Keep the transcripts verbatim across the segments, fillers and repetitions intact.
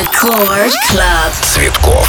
Record Club. Цветков.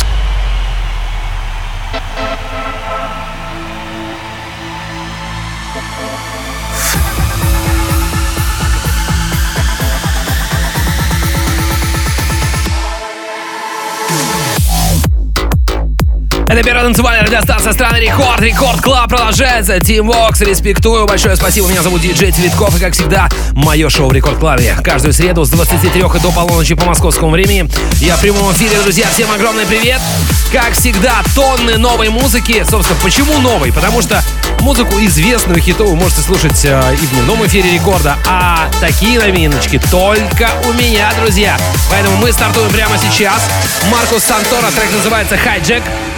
Это первая танцевальная радиостанция страны Рекорд. Рекорд Клаб продолжается. Team Vox, респектую. Большое спасибо. Меня зовут диджей Цветков. И, как всегда, мое шоу в Рекорд Клабе. Каждую среду с двадцати трёх и до полуночи по московскому времени. Я в прямом эфире, друзья. Всем огромный привет. Как всегда, тонны новой музыки. Собственно, почему новой? Потому что музыку известную, хитовую вы можете слушать э, и в дневном эфире Рекорда. А такие новиночки только у меня, друзья. Поэтому мы стартуем прямо сейчас. Маркус Сантора. Трек называется «Hijack».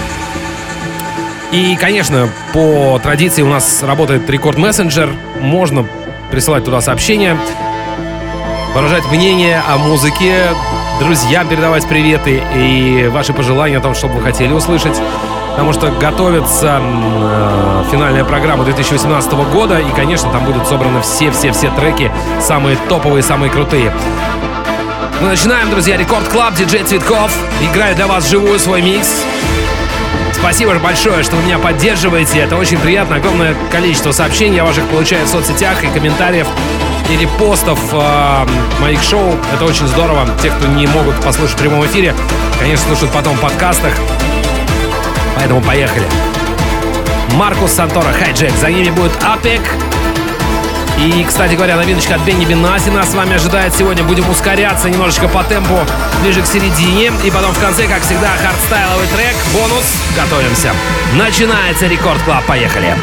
И, конечно, по традиции у нас работает Рекорд Мессенджер. Можно присылать туда сообщения, выражать мнение о музыке, друзьям передавать приветы и ваши пожелания о том, что бы вы хотели услышать. Потому что готовится э, финальная программа две тысячи восемнадцатого года. И, конечно, там будут собраны все-все-все треки, самые топовые, самые крутые. Мы начинаем, друзья. Рекорд Клаб, диджей Цветков. Играю для вас живую свой микс. Спасибо большое, что вы меня поддерживаете. Это очень приятно. Огромное количество сообщений я ваших получаю в соцсетях и комментариев, и репостов э, моих шоу. Это очень здорово. Те, кто не могут послушать в прямом эфире, конечно, слушают потом в подкастах. Поэтому поехали. Маркус Сантора, «Hijack». За ними будет Апек. И, кстати говоря, новиночка от Бенни Бенасси нас с вами ожидает сегодня. Будем ускоряться немножечко по темпу ближе к середине. И потом в конце, как всегда, хардстайловый трек, бонус. Готовимся. Начинается Рекорд Клаб. Поехали.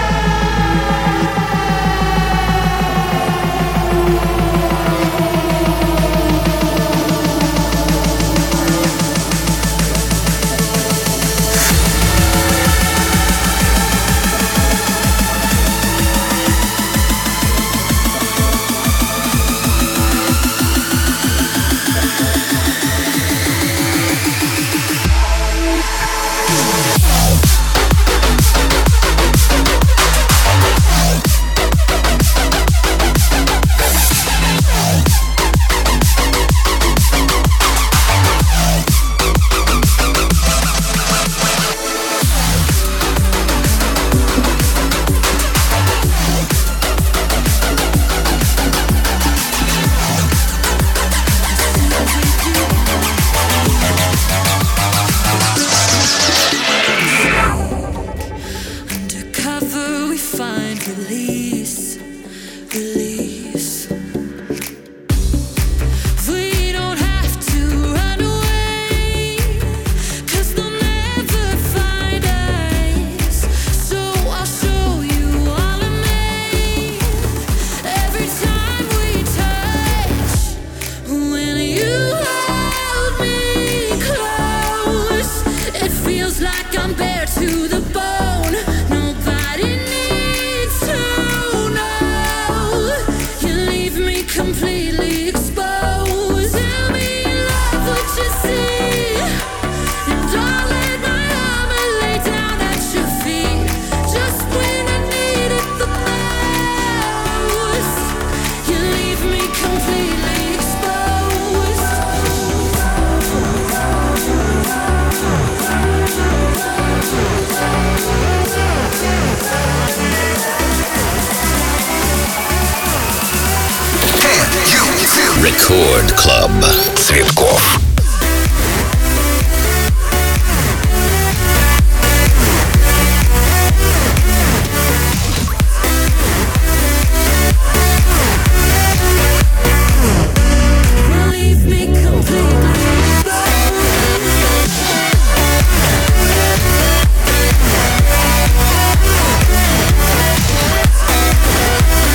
Record Club. Цветков.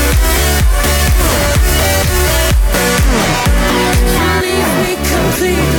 Leave me complete.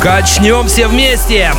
Качнем все вместе!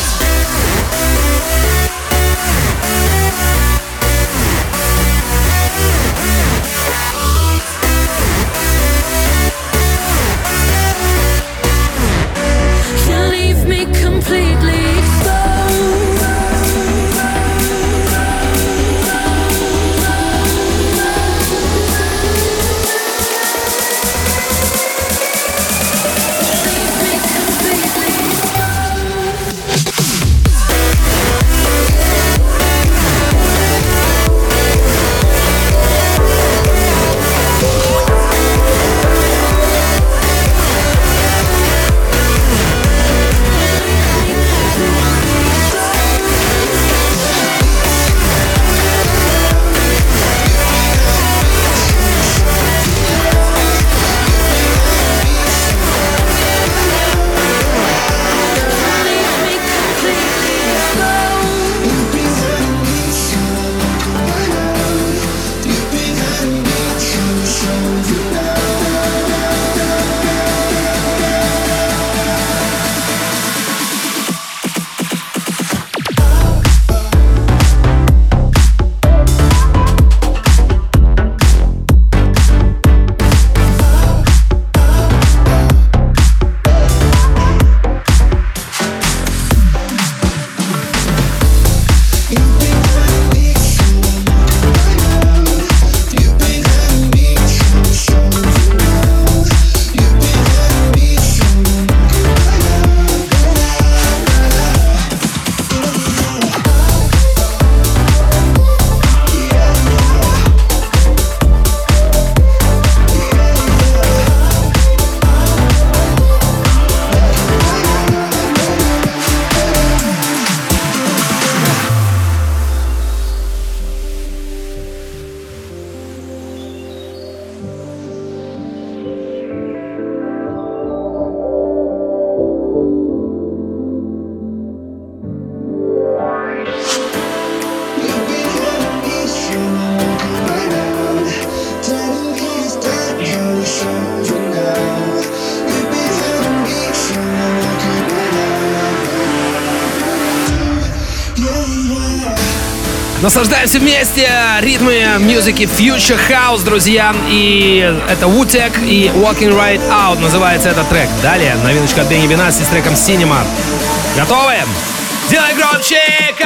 Наслаждаемся вместе ритмы музыки Future House, друзья. И это Wu-Tech и Walking Right Out называется этот трек. Далее новиночка от Бенни Бенасси с треком Cinema. Готовы? Делай громче,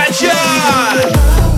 качай!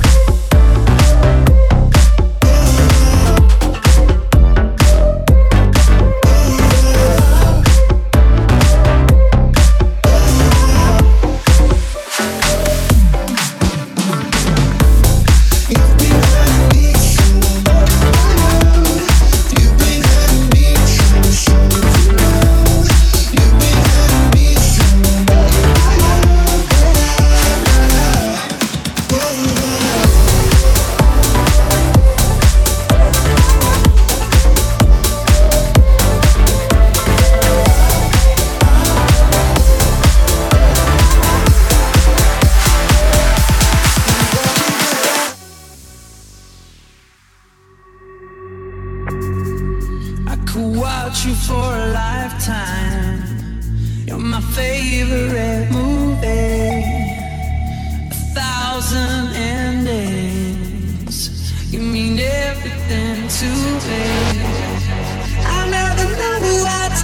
You for a lifetime. You're my favorite movie. A thousand endings. You mean everything to me. I never know what's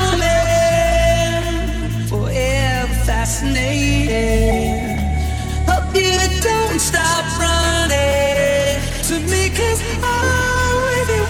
coming. Forever fascinated. Hope you don't stop running to me, 'cause I'm with you.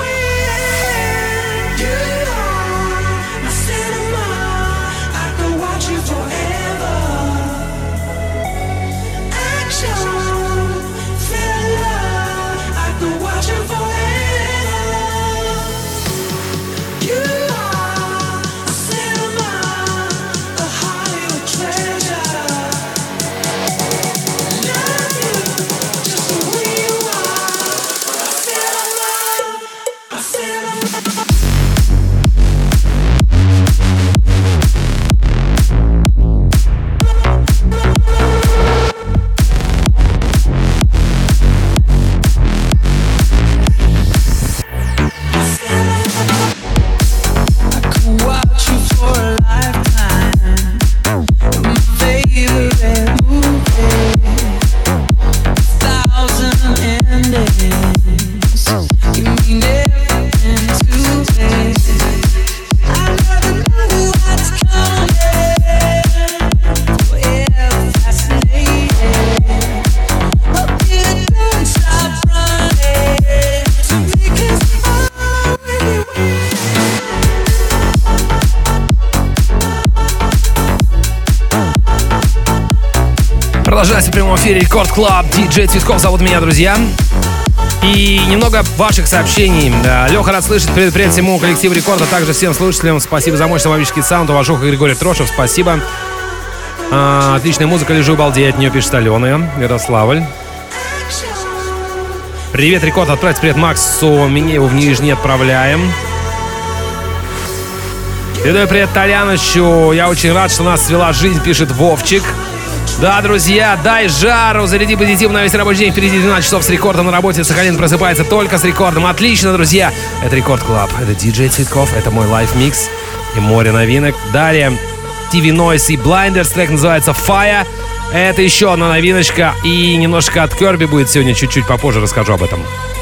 Продолжается в прямом эфире Рекорд Клаб. Диджей Цветков зовут меня, друзья. И немного ваших сообщений. Леха рад слышать. Привет, привет всему коллективу Рекорда, а также всем слушателям. Спасибо за мощный мобильский саунд. Уважуха Григорий Трошев, спасибо. А, отличная музыка, лежу балдею от нее, пишет Алена. Ярославль. Привет, Рекорд. Отправьте привет Максу. Меня его в Нижний отправляем. Передаю привет Толяновичу. Я очень рад, что нас свела жизнь, пишет Вовчик. Да, друзья, дай жару, заряди позитив на весь рабочий день. Впереди двенадцать часов с Рекордом на работе. Сахалин просыпается только с Рекордом. Отлично, друзья. Это Рекорд Клаб, это диджей Цветков, это мой лайв-микс и море новинок. Далее ти ви Noise и Blinders, трек называется Fire. Это еще одна новиночка. И немножко от Kirby будет сегодня, чуть-чуть попозже расскажу об этом.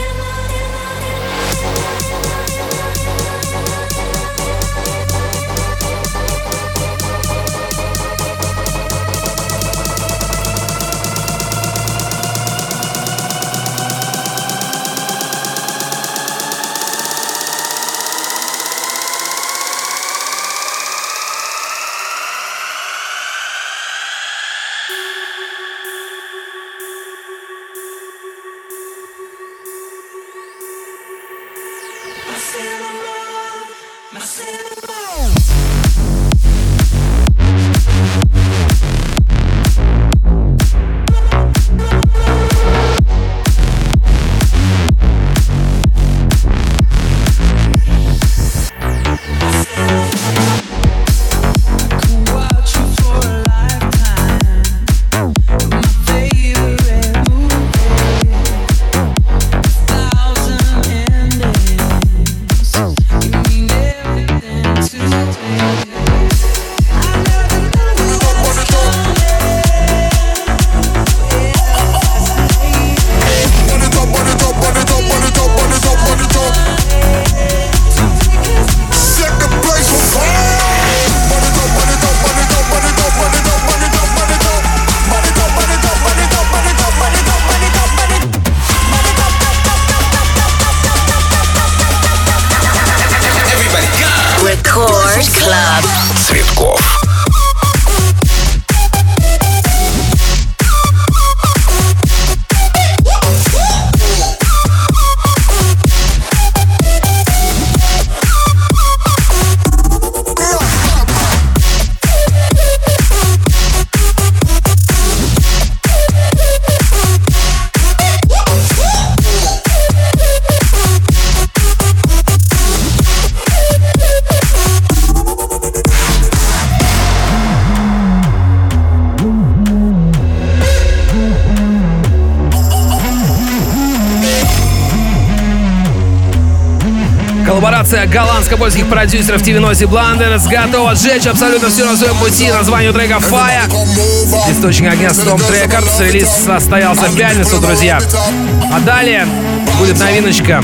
Коллаборация голландско-польских продюсеров ти ви Noise и Blinders готова сжечь абсолютно все на своем пути. Название трека Fire. Источник огня Storm Records. Релиз состоялся в пятницу, друзья. А далее будет новиночка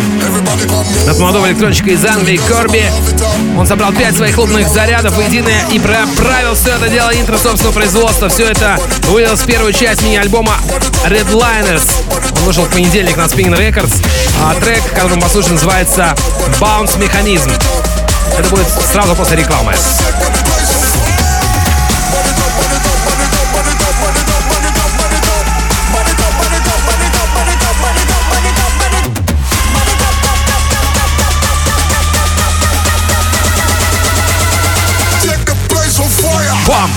от молодого электронщика из Англии Kirby. Он собрал пять своих клубных зарядов воедино и проправил все это дело интро собственного производства. Все это вылилось в первую часть мини-альбома Redliners. Он вышел в понедельник на Spinning Records. А трек, который мы послушаем, называется Bounce Mechanism. Это будет сразу после рекламы. Бам!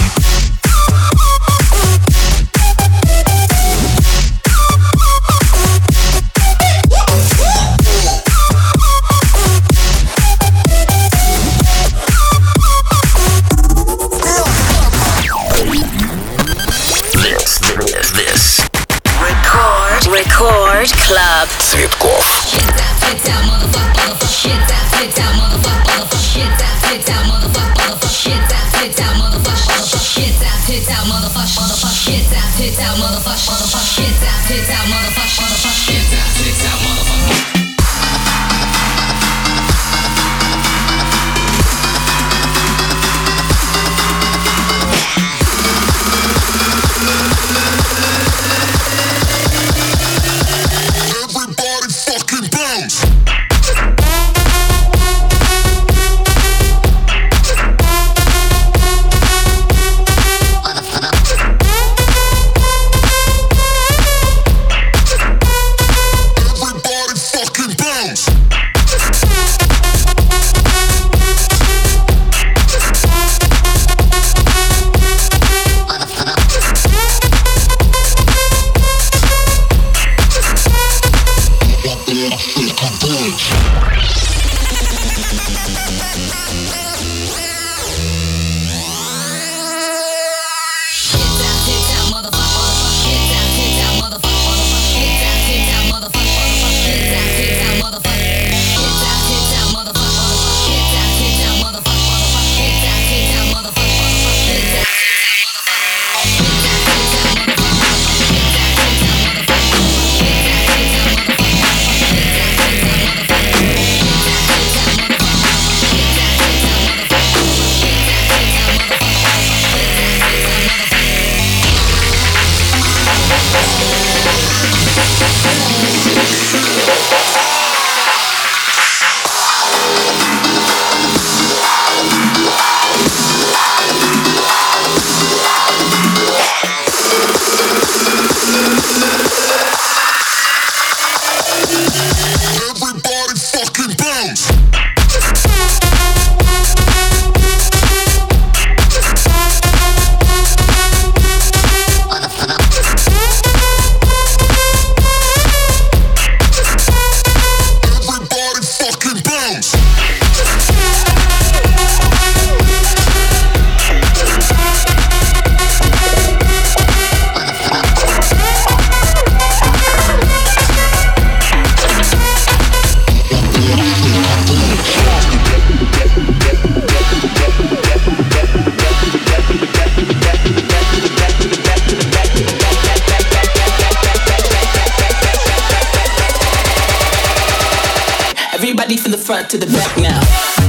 Everybody from the front to the back now.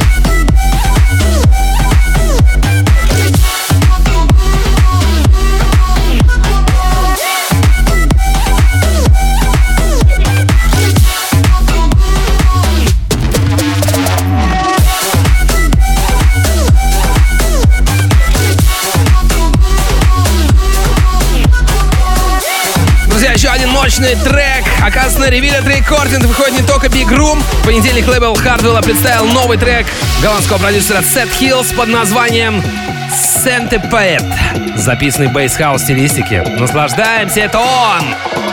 Еще один мощный трек. Оказывается, на Revealed Recording выходит не только Big Room. В понедельник лейбл Hardwell представил новый трек голландского продюсера Seth Hills под названием Centipede, записанный в бейс-хаус стилистике. Наслаждаемся, это он!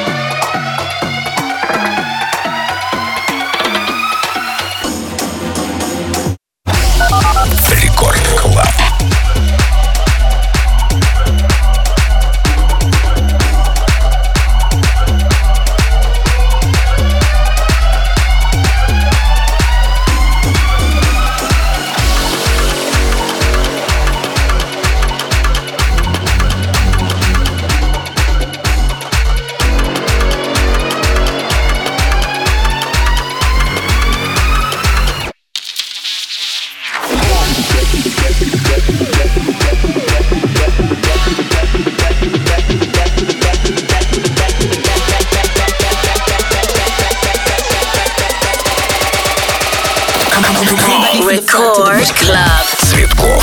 Рекорд Клаб. Record Club. Цветков.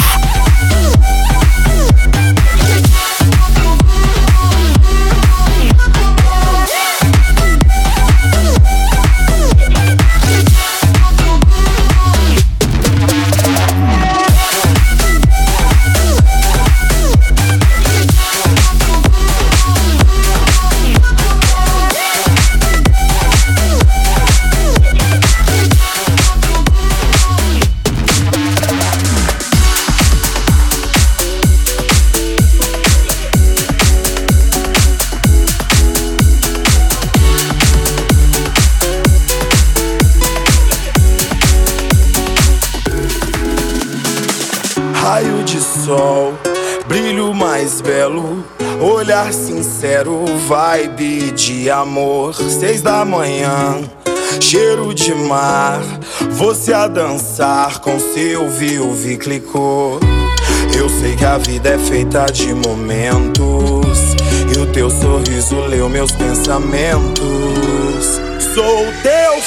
Raio de sol, brilho mais belo, olhar sincero, vibe de amor. Seis da manhã, cheiro de mar, você a dançar com seu viu-vi clicou. Eu sei que a vida é feita de momentos e o teu sorriso leu meus pensamentos. Sou teu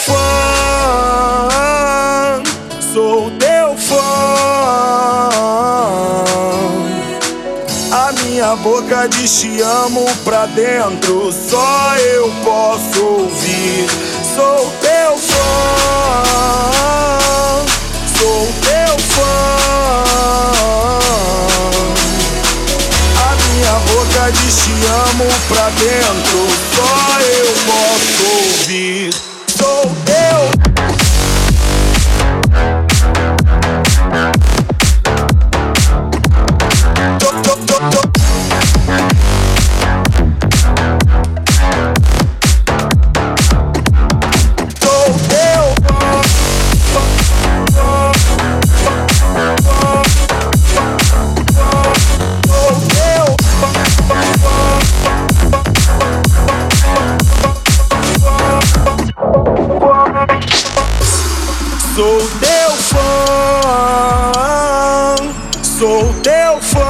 fã, sou teu fã. A minha boca diz te amo pra dentro, só eu posso ouvir. Sou teu fã, sou teu fã. A minha boca diz te amo pra dentro, só eu posso ouvir. Sou teu. Sou teu fã, sou teu fã.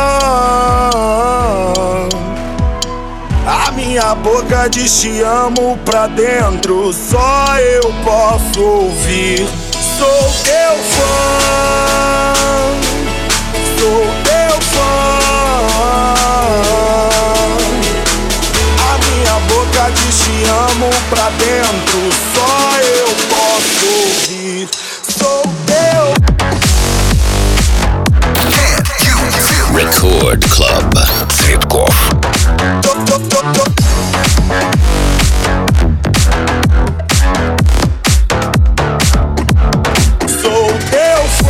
A minha boca diz te amo pra dentro, só eu posso ouvir. Sou teu fã, sou teu fã. A minha boca diz te amo pra dentro, só eu posso ouvir. Sou teu. Record Club. Цветков. Sou teu.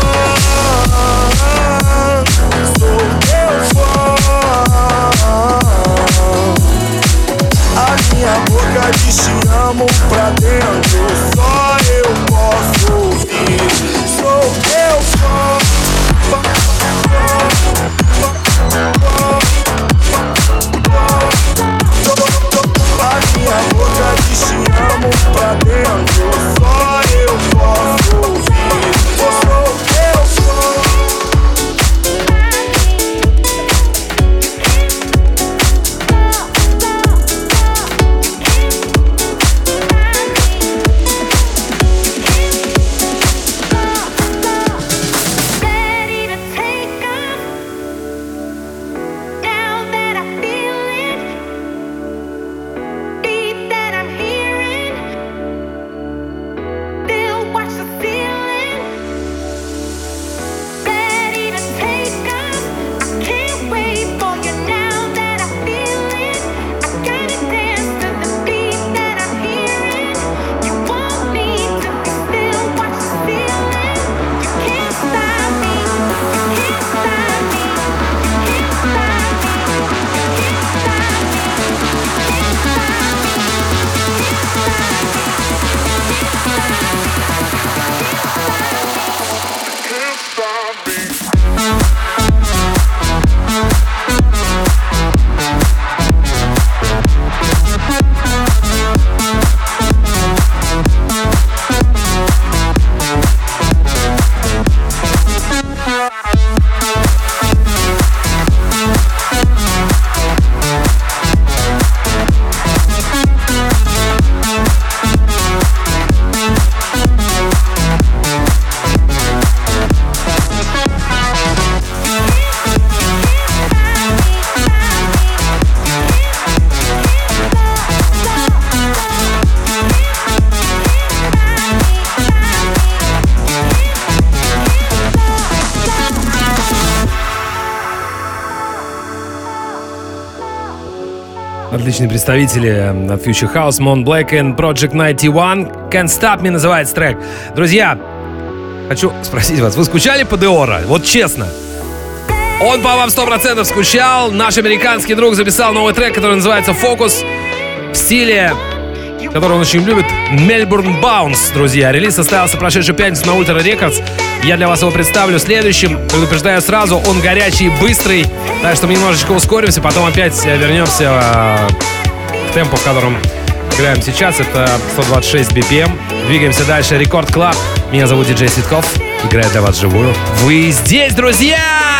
отличные представители от Future House, Mont Black and Project девяносто один. Can't Stop Me называется трек. Друзья, хочу спросить вас, вы скучали по Деоро? Вот честно. Он по вам сто процентов скучал. Наш американский друг записал новый трек, который называется «Фокус», в стиле, который он очень любит, Melbourne Bounce, друзья. Релиз состоялся прошедшую пятницу на Ultra Records. Я для вас его представлю следующим. Предупреждаю сразу, он горячий и быстрый. Так что мы немножечко ускоримся, потом опять вернемся к темпу, в котором играем сейчас. Это сто двадцать шесть би пи эм. Двигаемся дальше. Рекорд Клаб. Меня зовут диджей Цветков. Играет для вас живую. Вы здесь, друзья!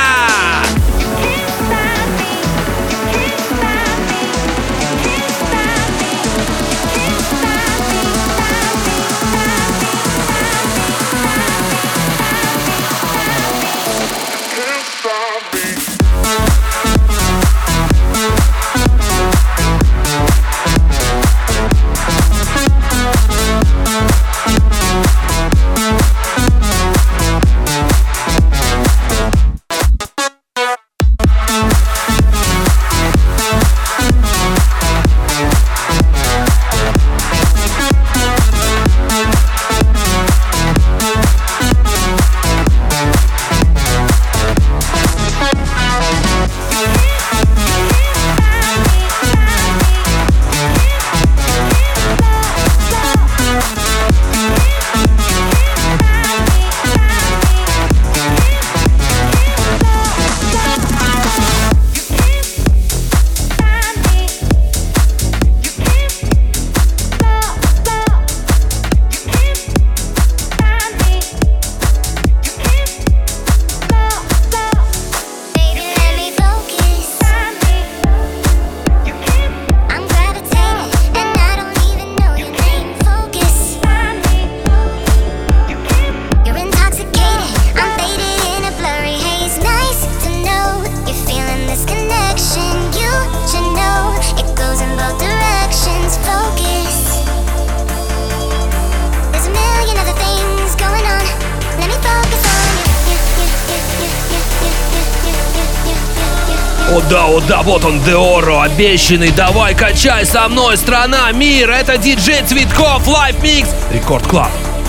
О да, о да, вот он, Деоро, обещанный. Давай, качай со мной, страна, мир. Это диджей Цветков, Live Mix, Рекорд Клаб.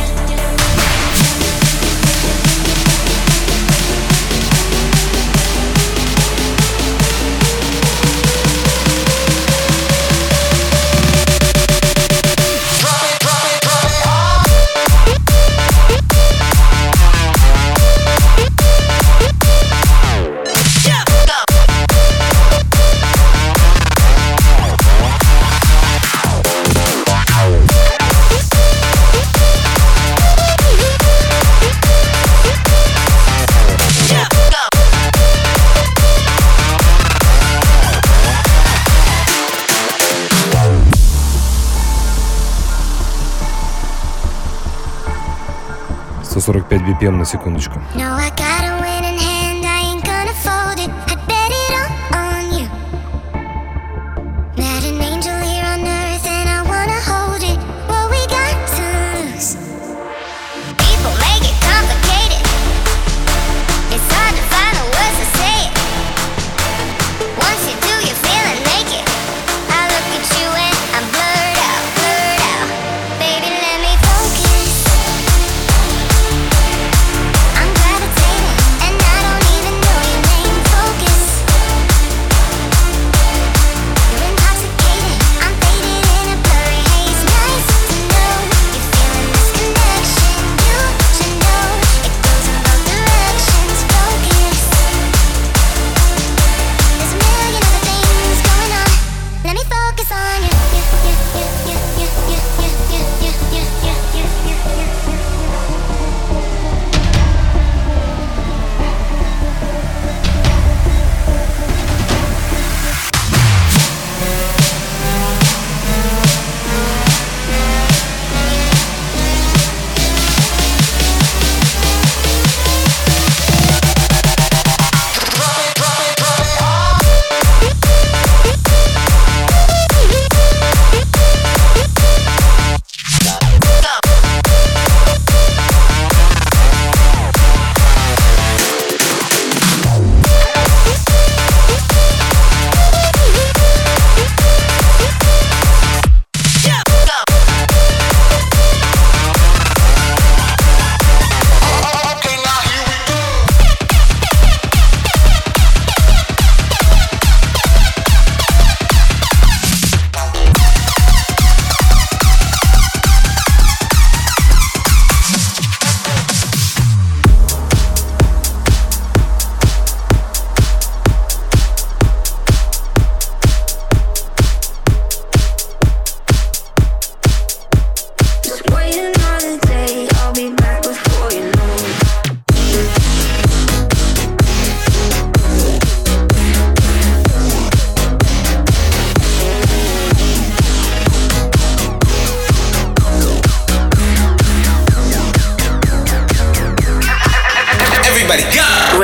сто сорок пять би пи эм на секундочку. I'm gravitating.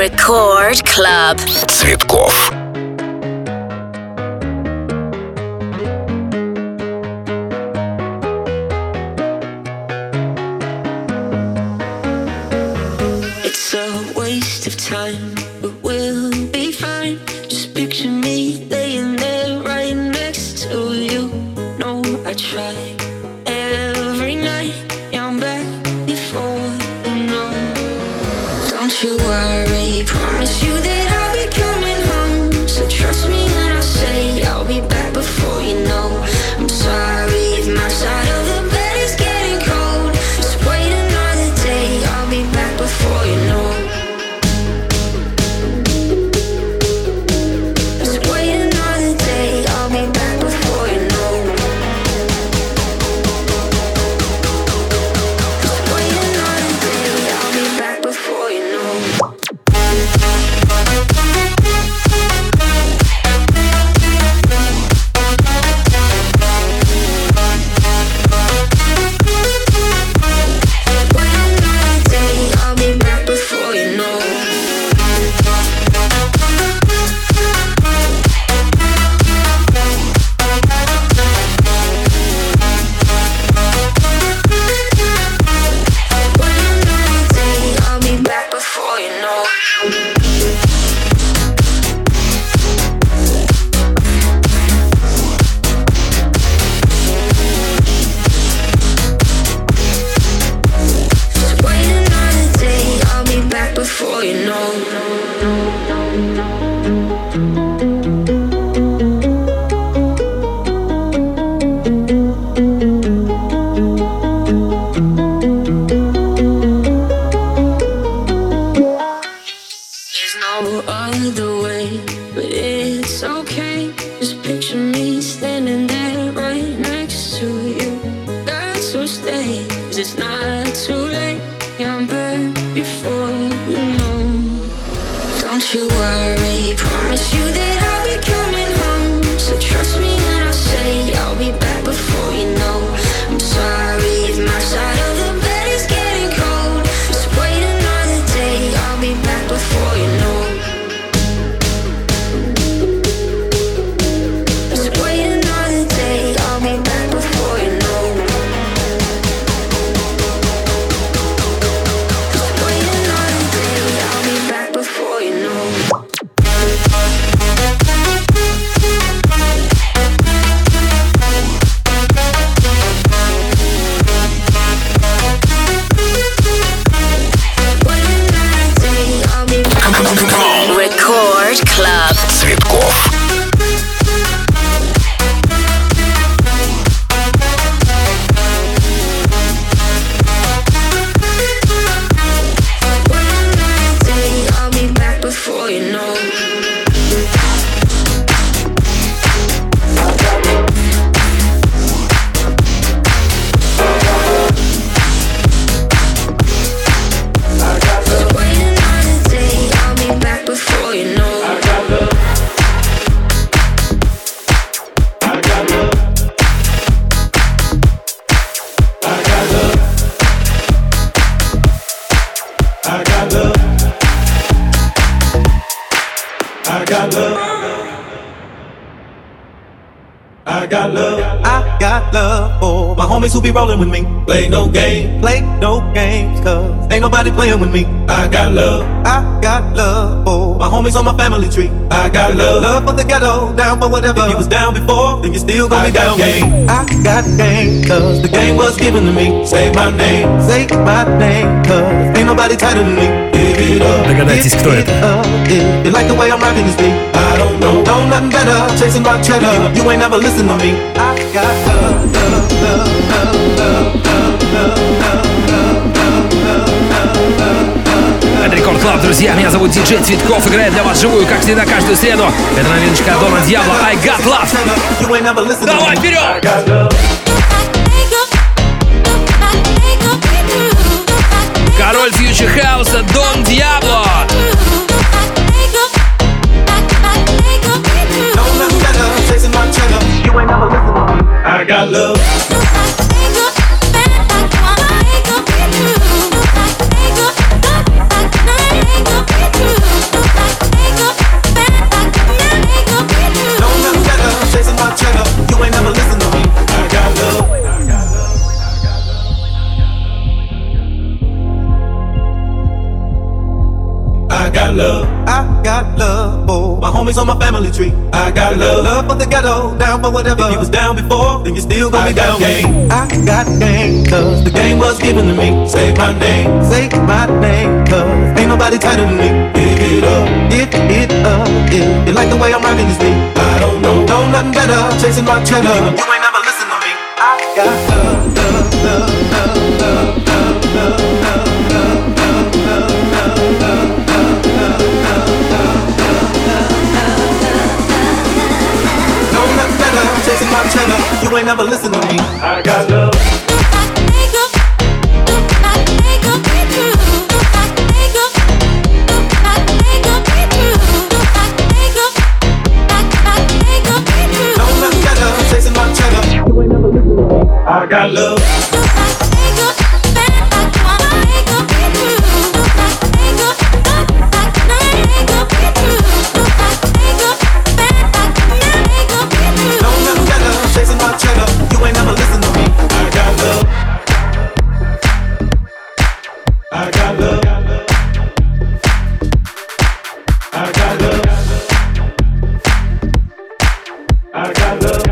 Record Club. Цветков. It's a waste of time, but we'll be fine. Just picture me laying there right next to you. No, I try every night. Yeah, I'm back before you know. Don't you worry, promise you that I'll be coming home. So trust me when I say I'll be back before you know. I'm sorry if my side of the bed is getting cold. Just wait another day, I'll be back before you know. Just wait another day, I'll be back before you know. Just wait another day, I'll be back before you know. Who be rolling with me? Play no game, play no games, cause ain't nobody playing with me. I got love, I got love for my homies on my family tree. I got love, love for the ghetto, down for whatever. If you was down before, then you still gonna I be down game. With me. I got game, cause the game was given to me. Say my name, say my name, cause ain't nobody tighter than me. Догадайтесь, кто это? You like the way I'm rocking this beat? I don't know, know nothing better, chasing my cheddar. You ain't never listen to me. I got love, love, love, love, love, love, love, love. Это Рекорд Клаб, друзья. Меня зовут диджей Цветков. Играет для вас живую, как всегда, каждую среду. Это новиночка Дона Диабло I Got Love. Давай вперед! Король фьючер хауса Дон Диабло. I got love. got love. I got love for my homies on my family tree. I got love. Love for the ghetto, down for whatever. If you was down before, then you still gonna be down. Game. I got game, cause the game was given to me. Say my name, say my name, cause ain't nobody tighter than me. Give it up, give it up. If you like the way I'm rocking this beat, I don't know, know nothing better. Chasing my cheddar. You ain't never listen to me. I got love, love, love, love, love, love, love, love, love, love, love, know nothing better. Chasing my cheddar. You ain't never listen to me. I got love. I got love. Chasing my cheddar, you ain't never listen to me. I got love. I got love. I got love. I got love.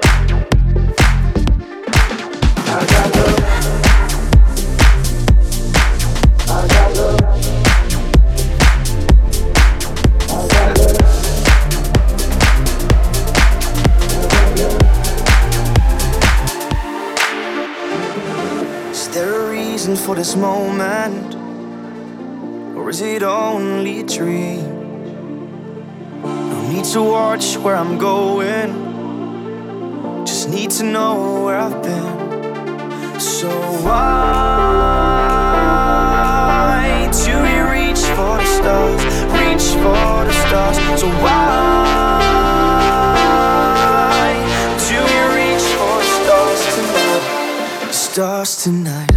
For this moment, or is it only a dream? No need to watch where I'm going, just need to know where I've been. So why do we reach for the stars, reach for the stars? So why do we reach for the stars tonight, the stars tonight?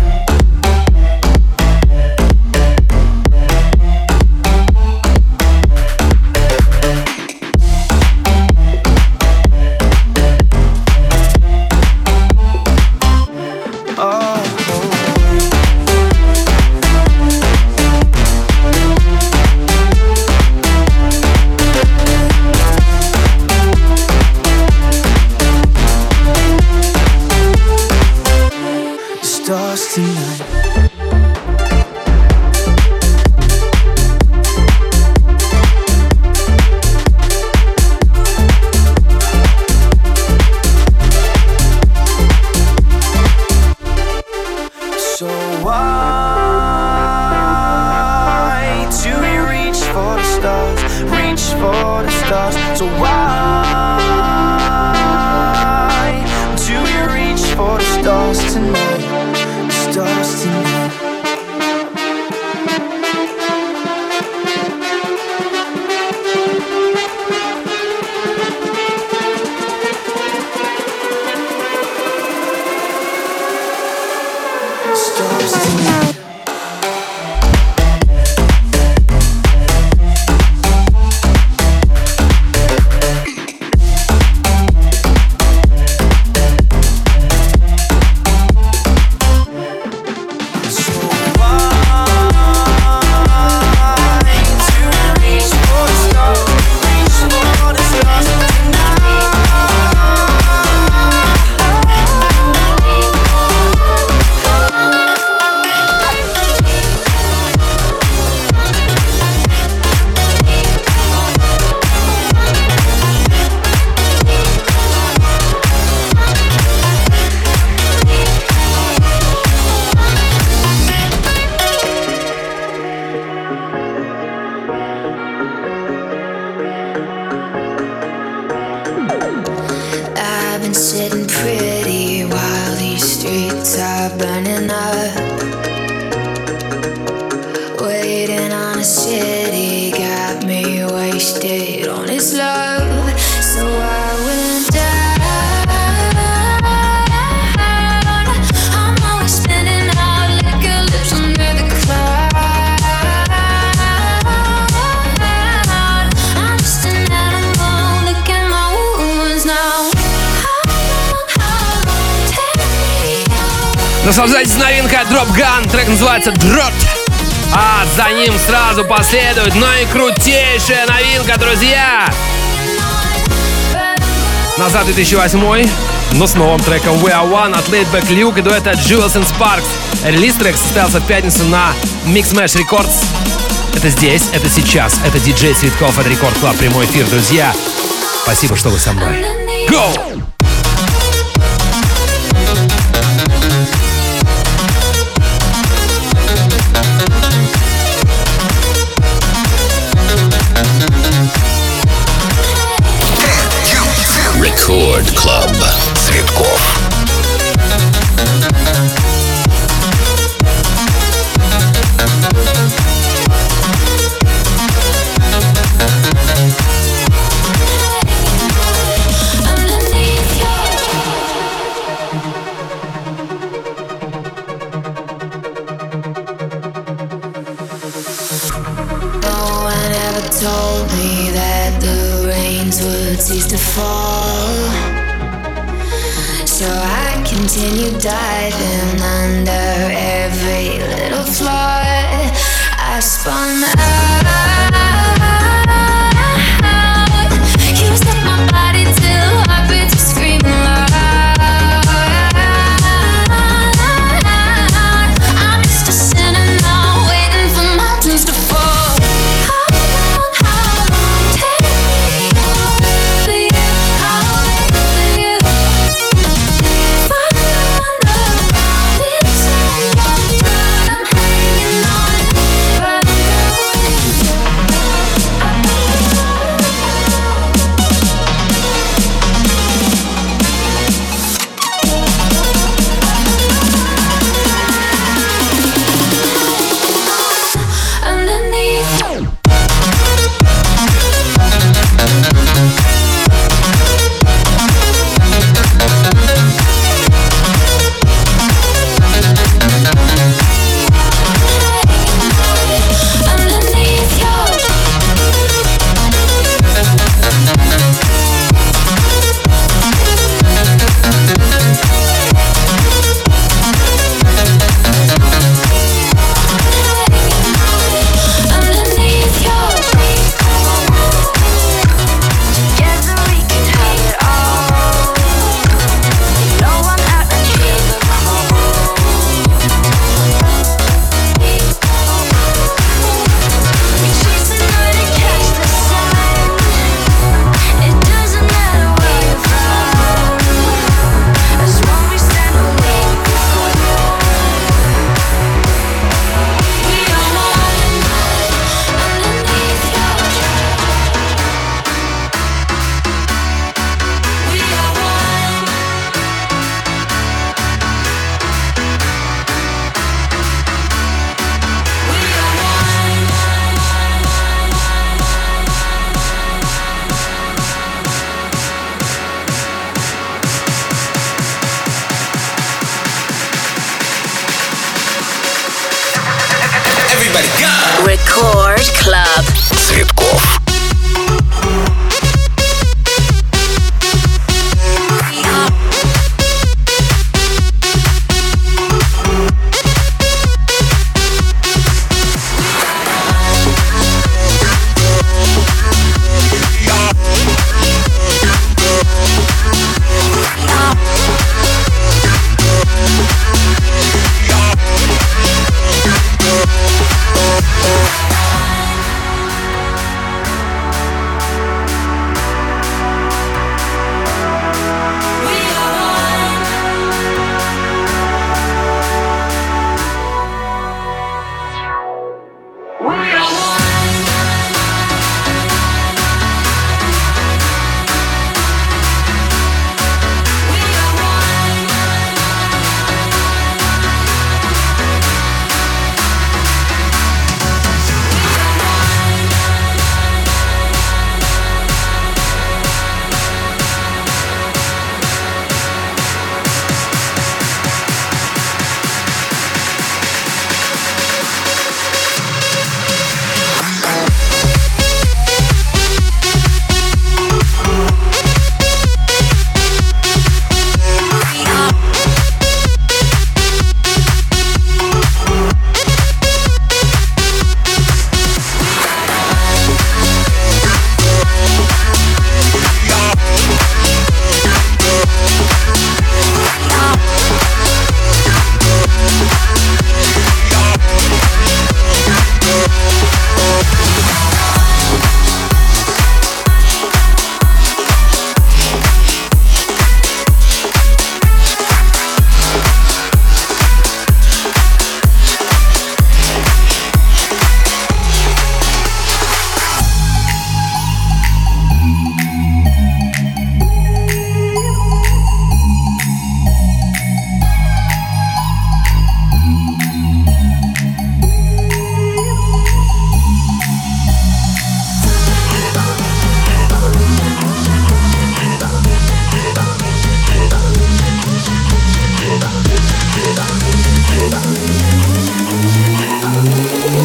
Наслаждайтесь, новинка Drop Gun, трек называется Drop. А за ним сразу последует наикрутейшая новинка, друзья! Назад две тысячи восьмой, но с новым треком We Are One от Laidback Luke и дуэта Jewels and Sparks. Релиз трек состоялся в пятницу на Mixmash Records. Это здесь, это сейчас, это диджей Цветков, это Рекорд Клаб, прямой эфир, друзья. Спасибо, что вы со мной. Go! Рекорд Клаб. Цветков. Told me that the rains would cease to fall, so I continued diving under every little flaw. I spun out, used up my body till heartbeats were screaming loud. I'm just a sinner now, waiting for mountains to fall.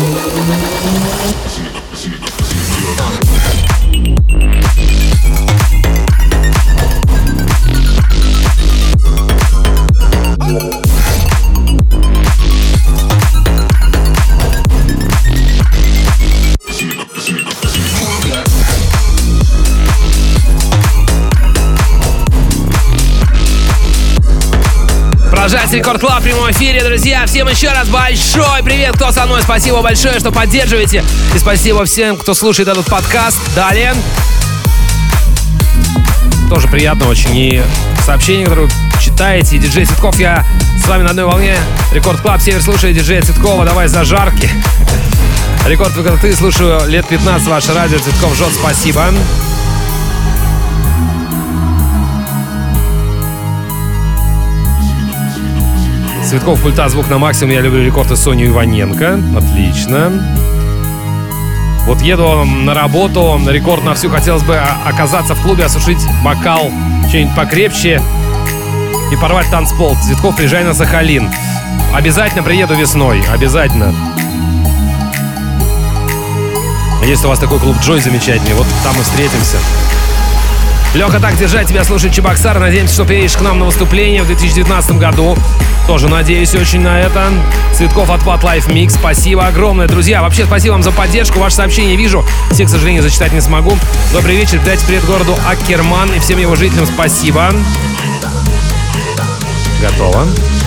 Продолжается Рекорд Клаб в прямом эфире, друзья. Всем еще раз большой привет, кто со мной. Спасибо большое, что поддерживаете. И спасибо всем, кто слушает этот подкаст. Далее. Тоже приятно очень. И сообщения, которые вы читаете. Диджей Цветков, я с вами на одной волне. Рекорд Клаб, Север слушает диджея Цветкова. Давай зажарки. Рекорд ты слушаю лет пятнадцать, ваше радио. Цветков жжет, спасибо. Цветков пульта, звук на максимум. Я люблю рекорд и Соню Иваненко. Отлично. Вот еду на работу. Рекорд на всю. Хотелось бы оказаться в клубе, осушить бокал, что-нибудь покрепче и порвать танцпол. Цветков, приезжай на Сахалин. Обязательно приеду весной. Обязательно. Есть у вас такой клуб Джой замечательный. Вот там мы встретимся. Леха, так держать тебя, слушать Чебоксар. Надеемся, что приедешь к нам на выступление в две тысячи девятнадцатом году. Тоже надеюсь очень на это. Цветков от Pad Life Mix. Спасибо огромное, друзья. Вообще, спасибо вам за поддержку. Ваши сообщения вижу. Все, к сожалению, зачитать не смогу. Добрый вечер. Передайте привет городу Аккерман и всем его жителям спасибо. Готово.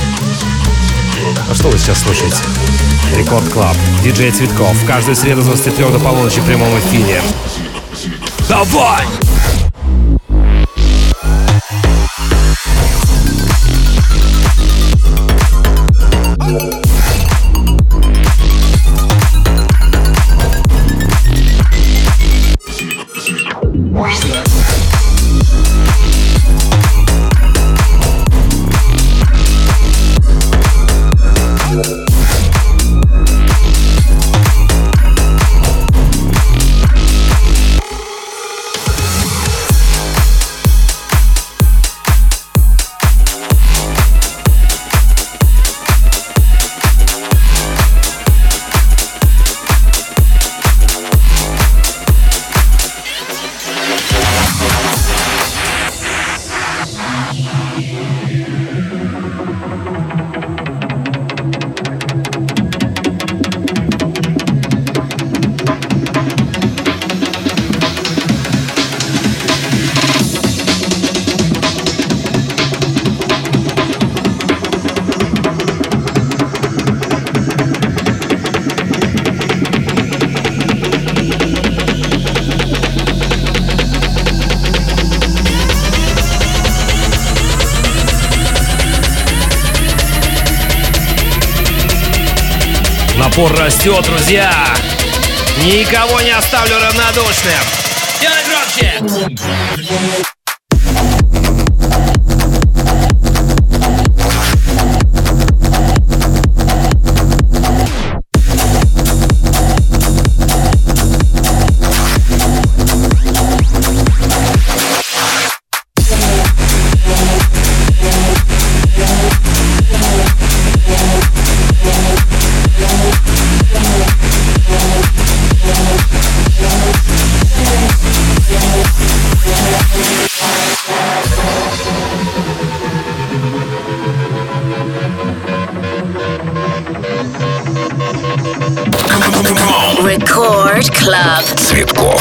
А что вы сейчас слушаете? Рекорд Клаб. Диджей Цветков. Каждую среду с двадцати трёх до полуночи в прямом эфире. Давай! Напор растет, друзья. Никого не оставлю равнодушным. Делай громче. Record Club. Цветков.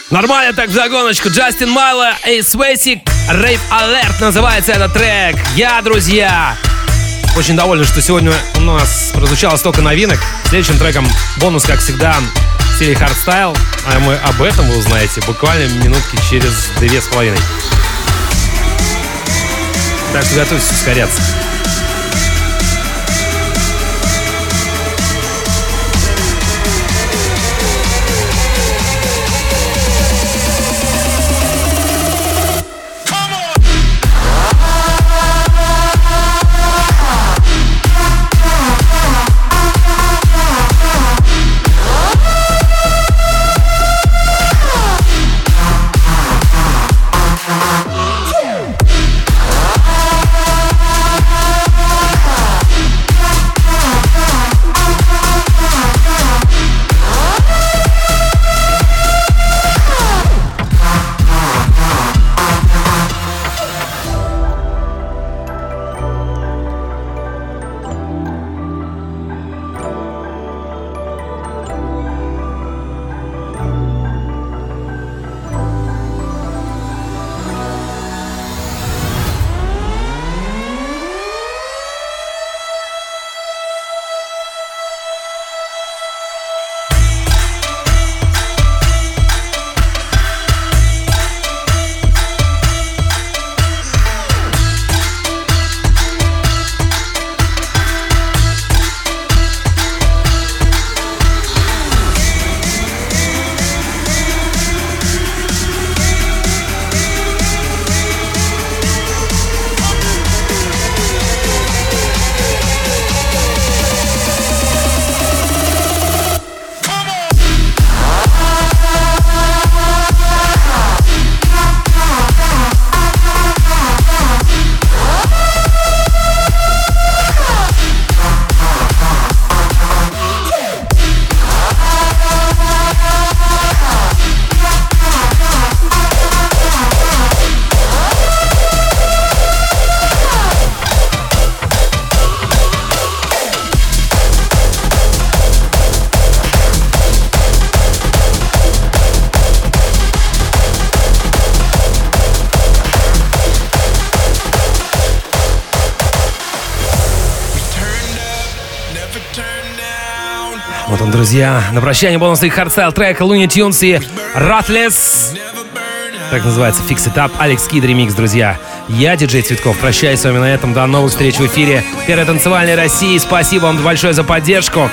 Нормально так в загоночку. Джастин Майло и Свесик. Rave Alert называется этот трек. Я, друзья, очень доволен, что сегодня у нас прозвучало столько новинок. Следующим треком бонус, как всегда, в стиле хардстайл. А мы об этом вы узнаете буквально минутки через две с половиной. Так что готовьтесь ускоряться. Вот он, друзья. На прощание бонусный хардстайл трек Looney Tunes и Ruthless. Так называется Fix It Up. Алекс Кид ремикс, друзья. Я, диджей Цветков, прощаюсь с вами на этом. До новых встреч в эфире Первой танцевальной России. Спасибо вам большое за поддержку.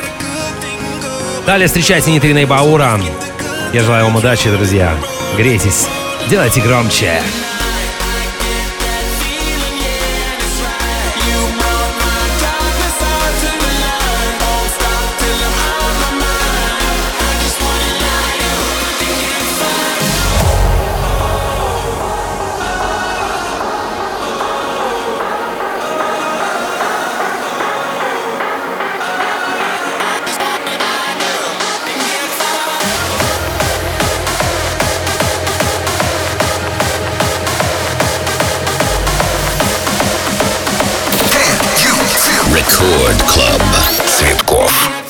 Далее встречайте Нитрина и Баура. Я желаю вам удачи, друзья. Грейтесь, делайте громче. Рекорд Клаб. Цветков.